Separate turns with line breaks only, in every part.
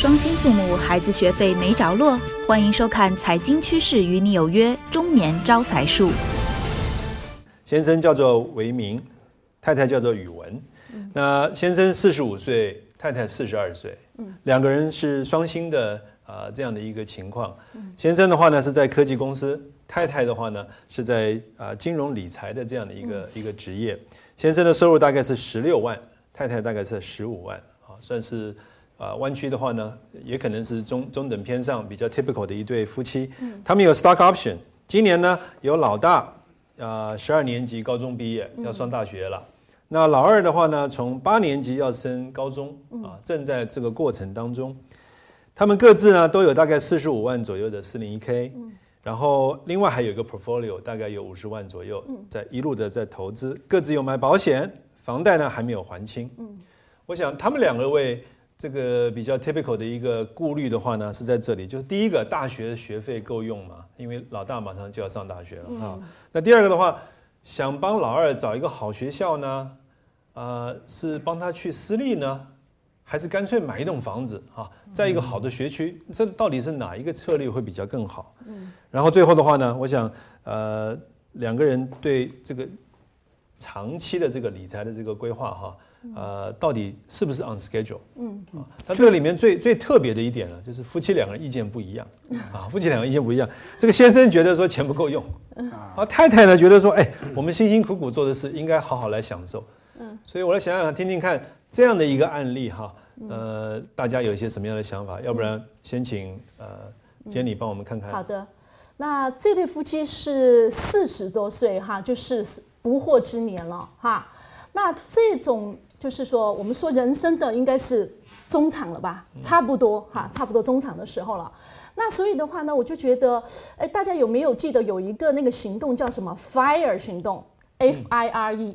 雙薪父母孩子學費沒着落，歡迎收看《財經趨勢與你有約》中年招財術。
先生叫做維明，太太叫做宇文。那先生45歲，太太42歲，兩個人是雙薪的這樣的一個情況。先生的話呢是在科技公司，太太的話呢是在金融理財的這樣的一個職業。先生的收入大概是16萬，太太大概是15萬，算是灣區的話呢，也可能是中等偏上比較 typical 的一對夫妻。他們有 stock option， 今年呢有老大12年級高中畢業要上大學了。那老二的話呢，從8年級要升高中正在這個過程當中。他們各自呢都有大概45萬左右的401k，然後另外還有一個 portfolio， 大概有50萬左右，在一路的在投資，各自有買保險，房貸呢還沒有還清。我想他們兩個為這個比較 typical 的一個顧慮的話呢，是在這裡，就是第一個，大學的學費夠用嘛，因為老大馬上就要上大學了。那第二個的話，想幫老二找一個好學校呢，是幫他去私立呢，還是乾脆買一棟房子在一個好的學區？這到底是哪一個策略會比較更好？然後最後的話呢，我想兩個人對這個長期的這個理財的這個規劃到底是不是 on schedule？ 它這個裡面最特別的一點呢，就是夫妻兩個人意見不一樣夫妻两個人意見不一樣。這個先生覺得說錢不夠用，太太呢覺得說，我們辛辛苦苦做的事應該好好來享受。所以我來想想聽聽看這樣的一個案例大家有一些什麼樣的想法？要不然先請Jenny幫我們看看。
好的，那這對夫妻是40多歲就是不惑之年了那這種就是說，我們說人生的應該是中場了吧，差不多差不多中場的時候了。那所以的話呢，我就覺得，大家有沒有記得有一个那个行動叫什麼 FIRE 行動 ？FIRE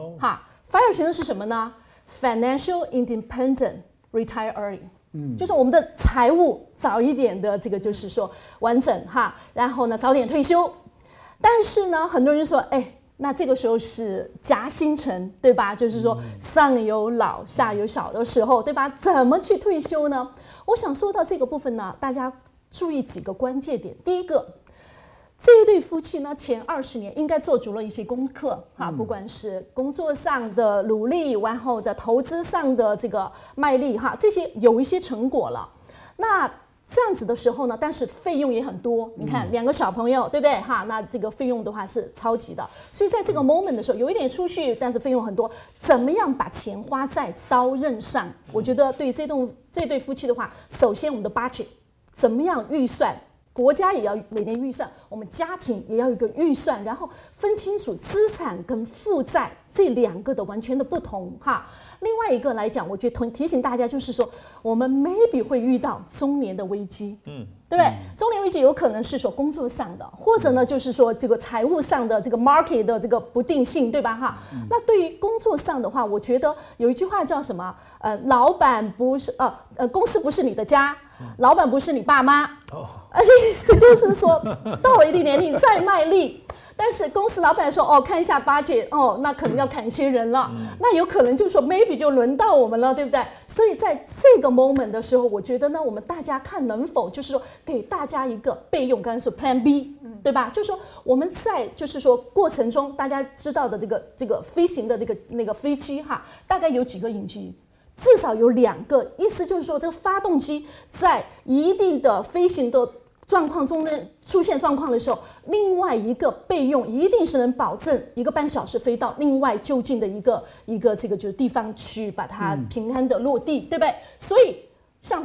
FIRE 行動是什麼呢 ？Financial Independent Retire Early，就是我們的財務早一點的這個就是說完整然後呢早點退休。但是呢，很多人說，那這個時候是夾心層，對吧？就是說上有老下有小的時候，對吧？怎麼去退休呢？我想說到這個部分呢，大家注意幾個關鍵點。第一個，這一對夫妻呢，前20年應該做足了一些功課不管是工作上的努力，然後的投資上的這個賣力這些有一些成果了。那這樣子的時候呢，但是費用也很多。你看2個小朋友，對不對那這個費用的話是超級的。所以在這個 moment 的時候，有一點儲蓄，但是費用很多。怎麼樣把錢花在刀刃上？我覺得對這對夫妻的話，首先我們的 budget 怎麼樣預算，國家也要每年預算，我們家庭也要有一個預算，然後分清楚資產跟負債這2個的完全的不同另外一個來講，我覺得提醒大家就是說，我們 maybe 會遇到中年的危機，對不對？中年危機有可能是說工作上的，或者呢就是說這個財務上的這個 market 的這個不定性，對吧那對於工作上的話，我覺得有一句話叫什麼？老闆不是公司不是你的家，老闆不是你爸媽，意思就是說到了一定年齡再賣力。但是公司老闆說看一下 budget 那可能要砍一些人了，那有可能就是說 maybe 就輪到我們了，對不對？所以在這個 moment 的時候，我覺得呢，我們大家看能否就是說給大家一個備用，剛才說 Plan B，對吧？就是說我們在就是說過程中，大家知道的這個飛行的那個飛機大概有幾個引擎，至少有2個，意思就是說這個發動機在一定的飛行的狀況中呢出現狀況的時候，另外一個備用一定是能保證1個半小時飛到另外就近的一個這個就是地方去把它平安的落地，對不對？所以像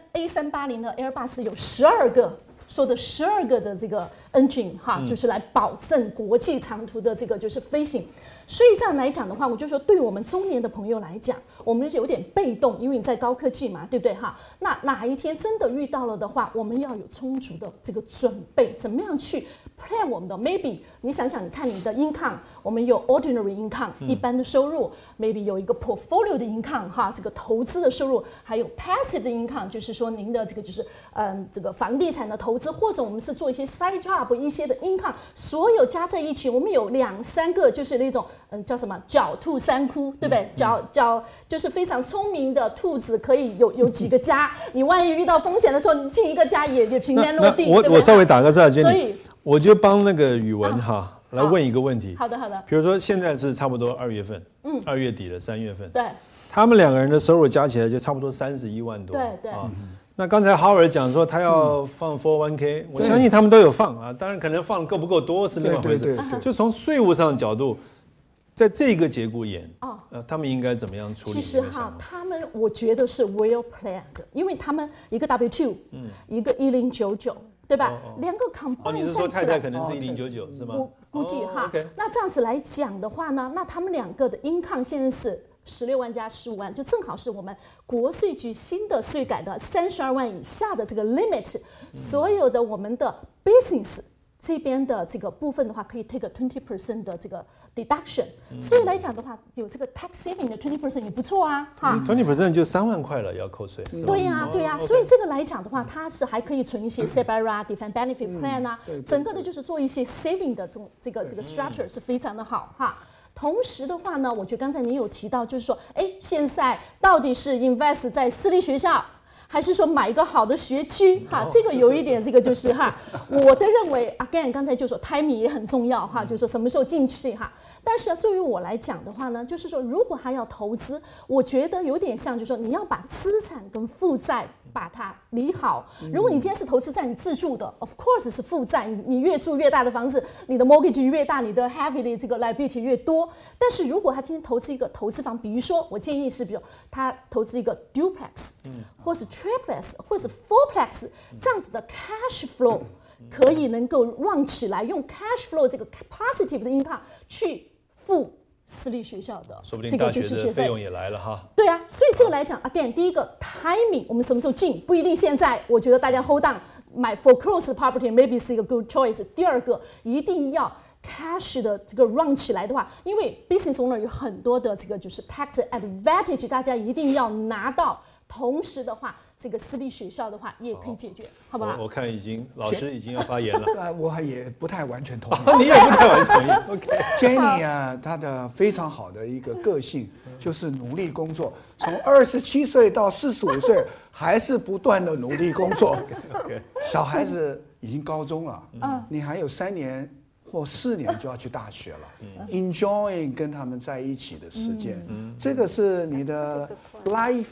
A380的 Airbus 有12個。說的12個的這個 engine 就是來保證國際長途的這個就是飛行。所以這樣來講的話，我就說對我們中年的朋友來講，我們有點被動，因為你在高科技嘛，對不對那哪一天真的遇到了的話，我們要有充足的這個準備，怎麼樣去 plan 我們的 maybe 你想想，你看你的 income， 我們有 ordinary income 一般的收入 ，maybe 有一個 portfolio 的 income 哈，這個投資的收入，還有 passive 的 income， 就是說您的這個就是這個房地產的投資，或者我們是做一些 side job 一些的 income， 所有加在一起，我們有2-3個就是那種叫什麼狡兔3窟，對不對？就是非常聰明的兔子，可以有幾個家，你萬一遇到風險的時候，你進一個家也平安落地。
我稍微打個岔，
所以
我就幫那個宇文哈來問一個問題。
好的。
比如說現在是差不多2月份，2月底了，3月份，
对，
他們2個人的收入加起來就差不多31萬多。
对。
那剛才 Howard 講說他要放 401k， 我相信他們都有放啊，當然可能放夠不夠多是另外一回事。就從稅務上的角度，在這個節骨眼，他們應該怎麼樣處理？
其實哈，他們我覺得是 well planned， 因為他們一個 W2，一個1099，對吧？兩個 combine
你是說太太可能是1099是嗎？
估計哈。那這樣子來講的話呢，那他們2個的 income 現在是16萬加15萬，就正好是我們國稅局新的稅改的32萬以下的這個 limit，所有的我們的 business 這邊的這個部分的話，可以 take a 20% 的這個 deduction，所以來講的話，有這個 tax saving 的 20% 也不錯啊，哈。
20% 就3萬塊了，要扣稅。
對呀，所以這個來講的話，它是還可以存一些 SEPA defined benefit plan 啊，整個的就是做一些 saving 的這個 structure 是非常的好哈。同時的話呢，我覺得剛才你有提到，就是說，現在到底是 invest 在私立學校，還是說買一個好的學區？哈，這個有一點，這個就是哈，我的認為 ，again， 剛才就說 timing 也很重要哈，就是說什麼時候進去哈。但是對於我來講的話呢，就是說，如果還要投資，我覺得有點像，就是說，你要把資產跟負債把它理好。如果你今天是投資在你自住的，of course 是負債，你越住越大的房子，你的 mortgage 越大，你的 heavily 這個 liability 越多。但是如果他今天投資一個投資房，比如說我建議是，比如他投資一個 duplex，或是 triplex，或是 fourplex，這樣子的 cash flow 可以能夠run起來，用 cash flow 這個 positive 的 income 去付私立學校的
說不定大學的費用也來了哈。
对啊，所以這個來講 ，again， 第一個 timing， 我們什麼時候進不一定現在。我覺得大家 hold on 買 foreclosed property maybe 是一個 good choice。第二個，一定要 cash 的這個 run 起來的話，因為 business owner 有很多的這個就是 tax advantage， 大家一定要拿到。同時的話，這個私立學校的話也可以解決，好不好？
我看老師已經要發言了。
我也不太完全同意。
你也不太完全同意。OK。
Jenny 啊，她的非常好的一个個性就是努力工作，從27歲到45歲還是不斷的努力工作。小孩子已經高中了，你還有3年或4年就要去大學了。Enjoying 跟他們在一起的時間，這個是你的 life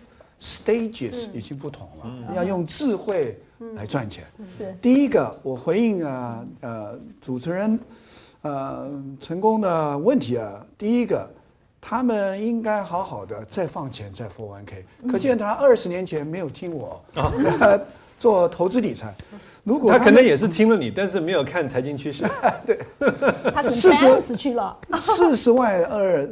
stages 已經不同了，要用智慧來賺錢。第一個，我回應主持人成功的問題啊。第一個，他們應該好好的再放錢在 401k。可見他20年前沒有聽我做投資理財。如果
他可能也是聽了你，但是沒有看財經趨勢。
對，
他40去了
40萬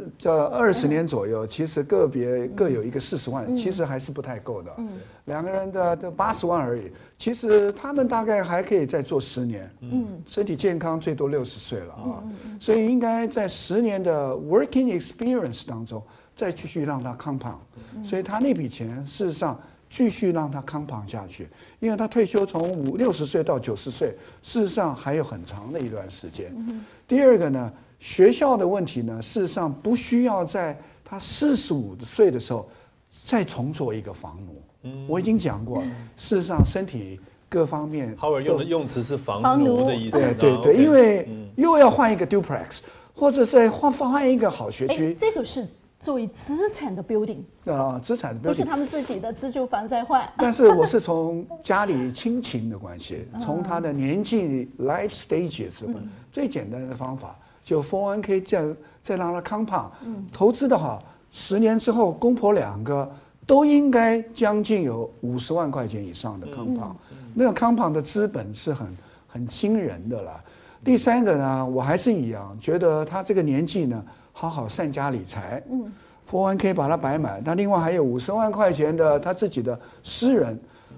20年左右，其實個別各有一個40萬，其實還是不太夠的。兩個人的80萬而已，其實他們大概還可以再做10年。身體健康最多60歲了啊，所以應該在10年的 working experience 當中再繼續讓他 compound。所以他那筆錢事實上繼續讓他 compound 下去，因為他退休從60歲到90歲，事實上還有很長的一段時間。第二個呢，學校的問題呢，事實上不需要在他45歲的時候再重做一個房奴。我已經講過，事實上身體各方面。
Howard 用的用詞是房奴的意思。
對，因為又要換一個 duplex，或者再換一個好學區。
這個是作為資產的 building
資產的 building
不是他們自己的自住房在換。
但是我是從家裡親情的關係，從他的年紀 life stages 最簡單的方法，就 401k 再讓他 compound。投資的話，10年之後，公婆2個都應該將近有50萬塊錢以上的 compound。那個 compound 的資本是很驚人的了。第三個呢，我還是一樣覺得他這個年紀呢，好好善加理財，401k 把它擺滿，他另外還有50萬塊錢的他自己的私人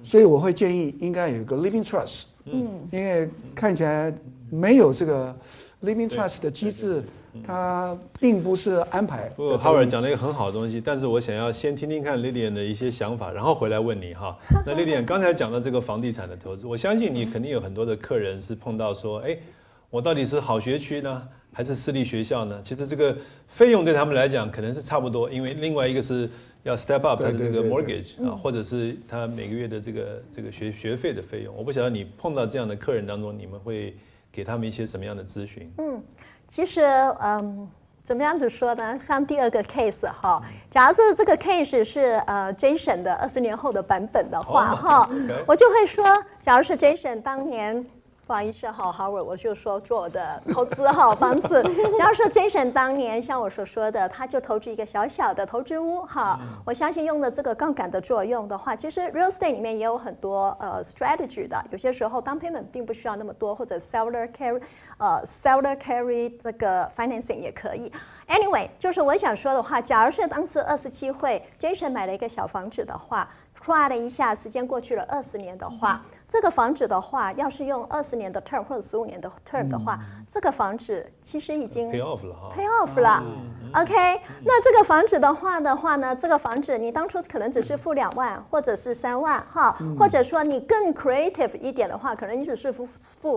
所以我會建議應該有一個 living trust，因為看起來沒有這個 living trust 的機制，它並不是安排。
不過 Howard 講了一個很好的東西，但是我想要先聽聽看 Lilian 的一些想法，然後回來問你哈。那 Lilian 剛才講到這個房地產的投資，我相信你肯定有很多的客人是碰到說，哎，我到底是好學區呢，還是私立學校呢？其實這個費用對他們來講可能是差不多，因為另外一個是要 step up 他的這個 mortgage 啊，或者是他每個月的這個學費的費用。我不曉得你碰到這樣的客人當中，你們會給他們一些什麼樣的諮詢？
其實怎麼樣子說呢？像第二個 case 哈，假如是這個 case 是Jason 的20年後的版本的話哈，我就會說，假如是 Jason 當年。不好意思哈 ，Howard， 我就說做我的投資哈房子。假如說 Jason 當年像我所說的，他就投資一個小小的投資屋哈，我相信用了這個槓桿的作用的話，其實 real estate 裡面也有很多strategy 的，有些時候 down payment 並不需要那麼多，或者 seller carry 這個 financing 也可以。Anyway， 就是我想說的話，假如是當時27歲 Jason 買了一個小房子的話，唰的一下，時間過去了20年的話。這個房子的話，要是用20年的 term 或者15年的 term 的話，這個房子其實已經
pay off 了哈
，pay off 了。OK， 那這個房子的話呢，這個房子你當初可能只是付2萬或者是3萬哈，或者說你更 creative 一點的話，可能你只是付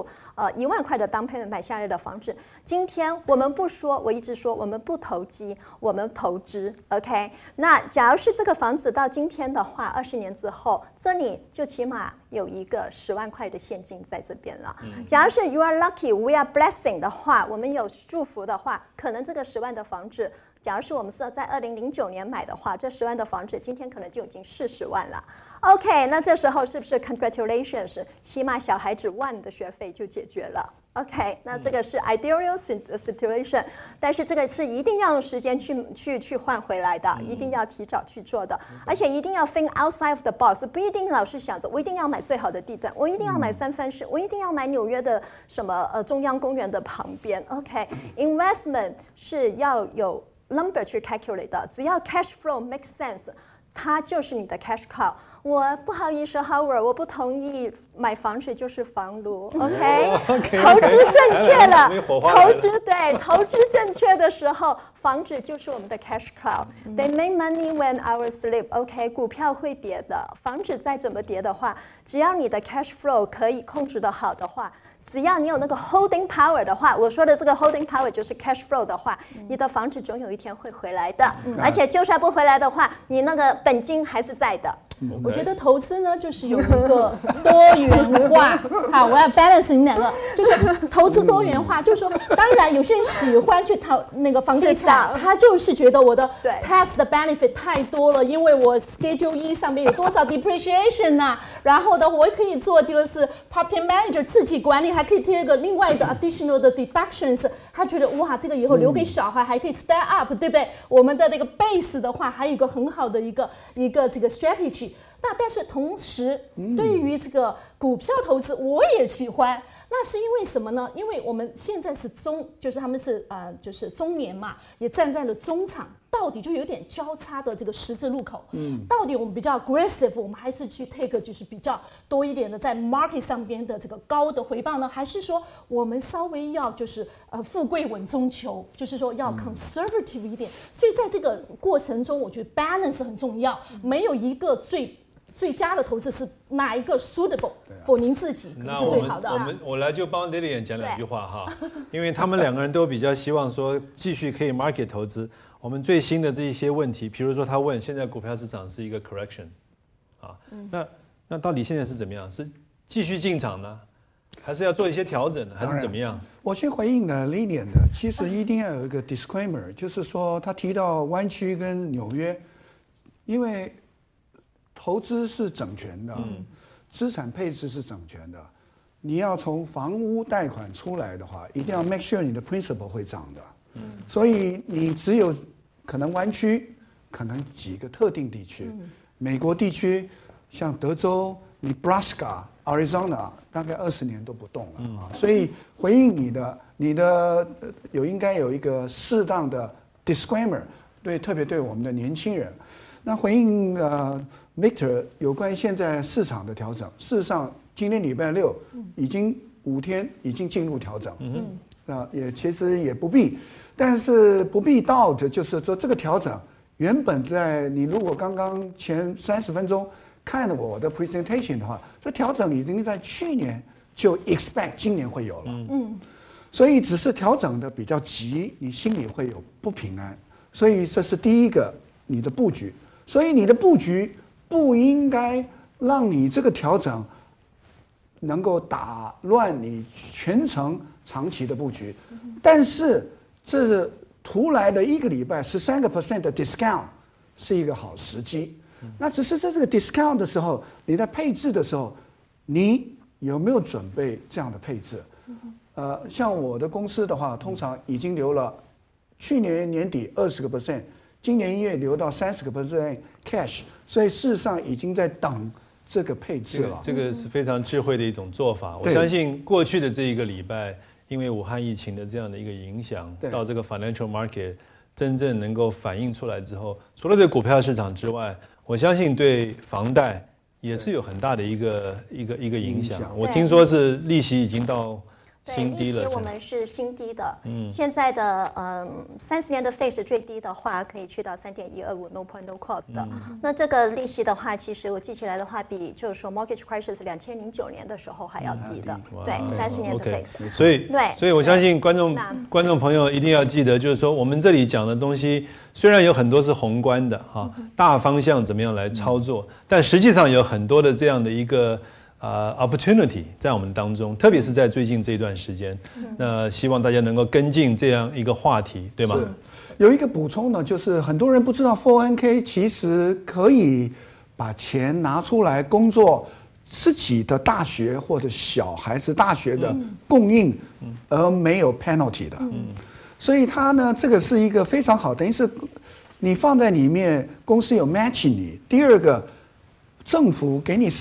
1萬塊的 down payment 買下來的房子。今天我們不說，我一直說我們不投機，我們投資。OK， 那假如是這個房子到今天的話，20年之後，這裡就起碼有一個10萬塊的現金在這邊了。假如是 you are lucky, we are blessing 的話，我們有祝福的話，可能這個10萬的房子，假如是我們是在2009年買的話，這10萬的房子今天可能就已經40萬了。OK， 那這時候是不是 congratulations， 起碼小孩子1萬的學費就解決了。OK， 那這個是 ideal situation， 但是這個是一定要用時間去換回來的，一定要提早去做的，而且一定要 think outside of the box， 不一定老是想着我一定要買最好的地段，我一定要買三藩市，我一定要買紐約的什麼中央公園的旁邊。OK，investment 是要有 number 去 calculate 的，只要 cash flow make sense， 它就是你的 cash cow。我不好意思 ，Howard， 我不同意買房子就是房奴 ，OK？ 投資正確了，投資正確的時候，房子就是我們的 cash cow。They make money when our sleep，OK？ 股票會跌的，房子再怎麼跌的話，只要你的 cash flow 可以控制得好的話。只要你有那個 holding power 的話，我說的這個 holding power 就是 cash flow 的話，你的房子總有一天會回來的，而且就算不回來的話，你那個本金還是在的。
我覺得投資呢，就是有一個多元化。好，我要 balance 你們兩個，就是投資多元化，就是說，當然有些人喜歡去投那個房地產，他就是覺得我的 tax 的 benefit 太多了，因為我 Schedule E 上面有多少 depreciation 啊，然後呢，我可以做就是 property manager 自己管理，還可以貼一個另外的 additional 的 deductions， 他覺得哇，這個以後留給小孩還可以 step up， 對不對？我們的那個 base 的話，還有一個很好的一個這個 strategy。那但是同時，對於這個股票投資，我也喜歡。那是因為什麼呢？因為我們現在是就是他們是就是中年嘛，也站在了中場，到底就有點交叉的這個十字路口。到底我們比較 aggressive， 我們還是去 take 就是比較多一點的在 market 上邊的這個高的回報呢？還是說我們稍微要就是富貴穩中求，就是說要 conservative 一點？所以在這個過程中，我覺得 balance 很重要，沒有一个最佳的投資是哪一個 suitable for 您自己是最好的。
我來就幫 Lilian 講兩句話哈，因為他們兩個人都比較希望說繼續可以 market 投資。我們最新的這一些問題，比如說他問現在股票市場是一個 correction， 啊，那到底現在是怎麼樣？是繼續進場呢，還是要做一些調整呢，還是怎麼樣？
我先回應了 Lilian 的，其實一定要有一個 disclaimer， 就是說他提到灣區跟紐約，因為投資是整全的，資產配置是整全的。你要從房屋貸款出來的話，一定要 make sure 你的 principal 會漲的。所以你只有可能灣區，可能幾個特定地區，美國地區像德州、Nebraska、Arizona， 大概20年都不動了啊。所以回應你的應該有一個適當的 disclaimer，特別對我們的年輕人。 那回應Victor 有關於現在市場的調整，事實上今天禮拜六已經5天已經進入調整，也其實也不必，但是不必到的就是說這個調整原本在你如果剛剛前30分鐘看了我的 presentation 的話，這調整已經在去年就 expect 今年會有了，所以只是調整的比較急，你心裡會有不平安，所以這是第一個你的布局，所以你的布局不應該讓你這個調整能夠打亂你全程長期的布局，但是這是突來的1個禮拜13% 的 discount 是一個好時機。那只是在這個 discount 的時候，你在配置的時候，你有沒有準備這樣的配置？像我的公司的話，通常已經留了去年年底20%，今年1月留到30% cash， 所以事實上已經在等這個配置了。
這個是非常智慧的一種做法。我相信過去的這一個禮拜，因為武漢疫情的這樣的一個影響，到這個 financial market 真正能夠反映出來之後，除了對股票市場之外，我相信對房貸也是有很大的一个影響。我听说是利息已經到新低了。
利息我們是新低的。現在的30年的 fix 最低的話可以去到3.125 no point no cost 的。那這個利息的話，其實我記起來的話，比就是說 mortgage crisis 2009年的時候還要低的。對，30年的 fix。
所以我相信觀眾朋友一定要記得，就是說我們這裡講的東西，雖然有很多是宏觀的哈，大方向怎麼樣來操作，但實際上有很多的這樣的一個opportunity 在我們當中，特別是在最近這段時間，那希望大家能夠跟進這樣一個話題，對嗎？
有一個補充呢，就是很多人不知道 401k 其實可以把錢拿出來工作自己的大學或者小孩子大學的供應，而沒有 penalty 的。所以它呢，這個是一個非常好，等於是你放在裡面，公司有 match 你。第二個，政府給你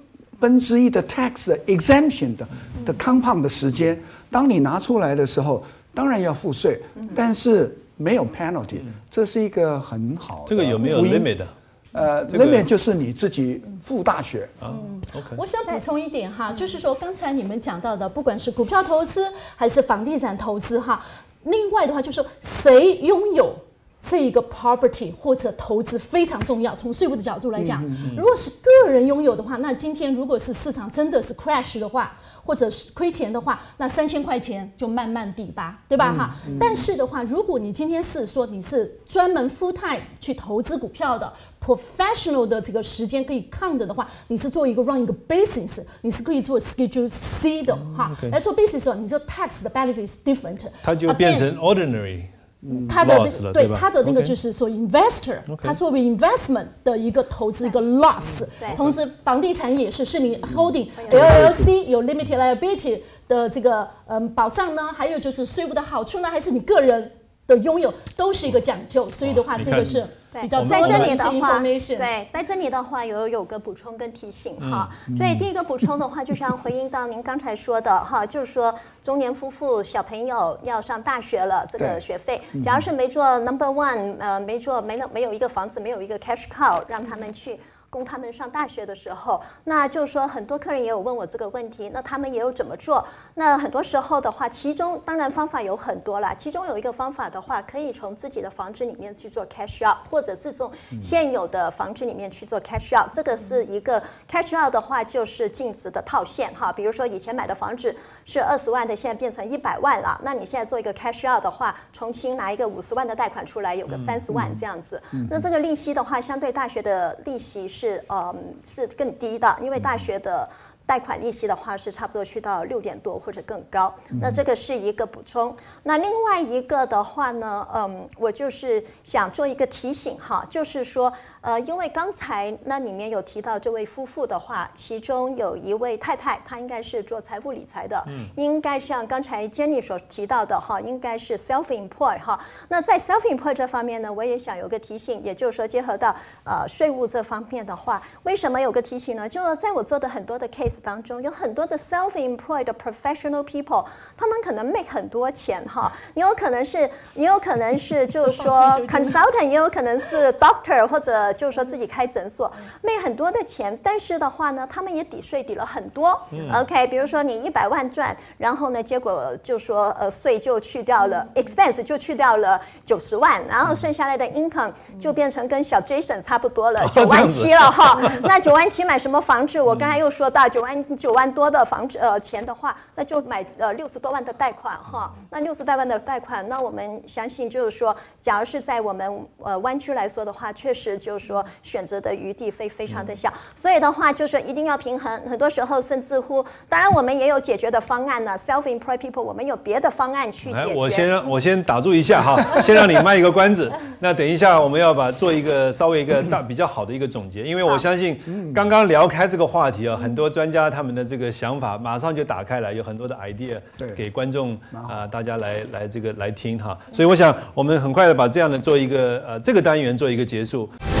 1/3的 tax exemption 的 compound 的時間，當你拿出來的時候，當然要付稅，但是沒有 penalty，這是一個很好的。
這個有沒有 limit 的
？limit 就是你自己付大學。
OK。我想補充一點哈，就是說剛才你們講到的，不管是股票投資還是房地產投資哈。另外的話，就是說誰擁有這一個 property 或者投資非常重要。從稅務的角度來講，如果是個人擁有的話，那今天如果是市場真的是 crash 的話，或者是虧錢的話，那3000塊錢就慢慢抵吧，對吧哈？但是的話，如果你今天是說你是專門 full time 去投資股票的 professional 的這個時間可以 count 的話，你是做一個 run 一個 business， 你是可以做 schedule C 的哈。來做 business 的時候，你這 tax 的 benefit is different，
它就變成 ordinary。
他的對他的那個就是說 investor， 他作為 investment 的一個投資一個 loss， 同時房地產也是你 holding LLC 有 limited liability 的這個保障呢，還有就是稅務的好處呢，還是你個人的擁有都是一個講究，所以的話這個是比較多的一些 information。
對，在這裡的話有個補充跟提醒哈。所以第一個補充的話，就是要回應到您剛才說的哈，就是說中年夫婦小朋友要上大學了，這個學費，假如是沒做 number one， 沒有一個房子，沒有一個 cash cow 讓他們去供他們上大學的時候，那就是說很多客人也有問我這個問題，那他們也有怎麼做？那很多時候的話，其中當然方法有很多啦，其中有一個方法的話，可以從自己的房子裡面去做 cash out， 或者是從現有的房子裡面去做 cash out。這個是一個 cash out 的話，就是淨值的套現哈。比如說以前買的房子是20萬的，現在變成100萬了，那你現在做一個 cash out 的話，重新拿一個50萬的貸款出來，有個30萬這樣子。那這個利息的話，相對大學的利息是更低的，因為大學的貸款利息的話是差不多去到6點多或者更高。那這個是一個補充。那另外一個的話呢，我就是想做一個提醒哈，就是說因為剛才那裡面有提到這位夫婦的話，其中有一位太太，她應該是做財務理財的，應該像剛才 Jenny 所提到的哈，應該是 self-employed 哈。那在 self-employed 這方面呢，我也想有個提醒，也就是說結合到稅務這方面的話，為什麼有個提醒呢？就是在我做的很多的 case 當中，有很多的 self-employed 的 professional people， 他們可能 make 很多錢哈，你有可能是就是說 consultant， 也有可能是 doctor 或者就是說自己開診所，沒很多的錢，但是的話呢，他們也抵稅抵了很多。OK， 比如說你100萬賺，然後呢，結果就說稅就去掉了，expense 就去掉了90萬，然後剩下來的 income 就變成跟小 Jason 差不多了，9萬7了哈。那9萬7買什麼房子？我剛才又說到9萬多的房子錢的話，那就買60多萬的貸款哈。那60多萬的貸款，那我們相信就是說，假如是在我們灣區來說的話，確實就是說選擇的餘地非常的小，所以的話就是一定要平衡。很多時候甚至乎，當然我們也有解決的方案呢。Self-employed people 我們有別的方案去解決。
我先打住一下哈，先讓你賣一個關子。那等一下我们要做一個稍微一個比較好的一個總結，因為我相信剛剛聊開這個話題啊，很多專家他們的這個想法馬上就打開來，有很多的 idea 給觀眾大家來聽哈。所以我想我們很快的把這樣的做一個這個單元做一個結束。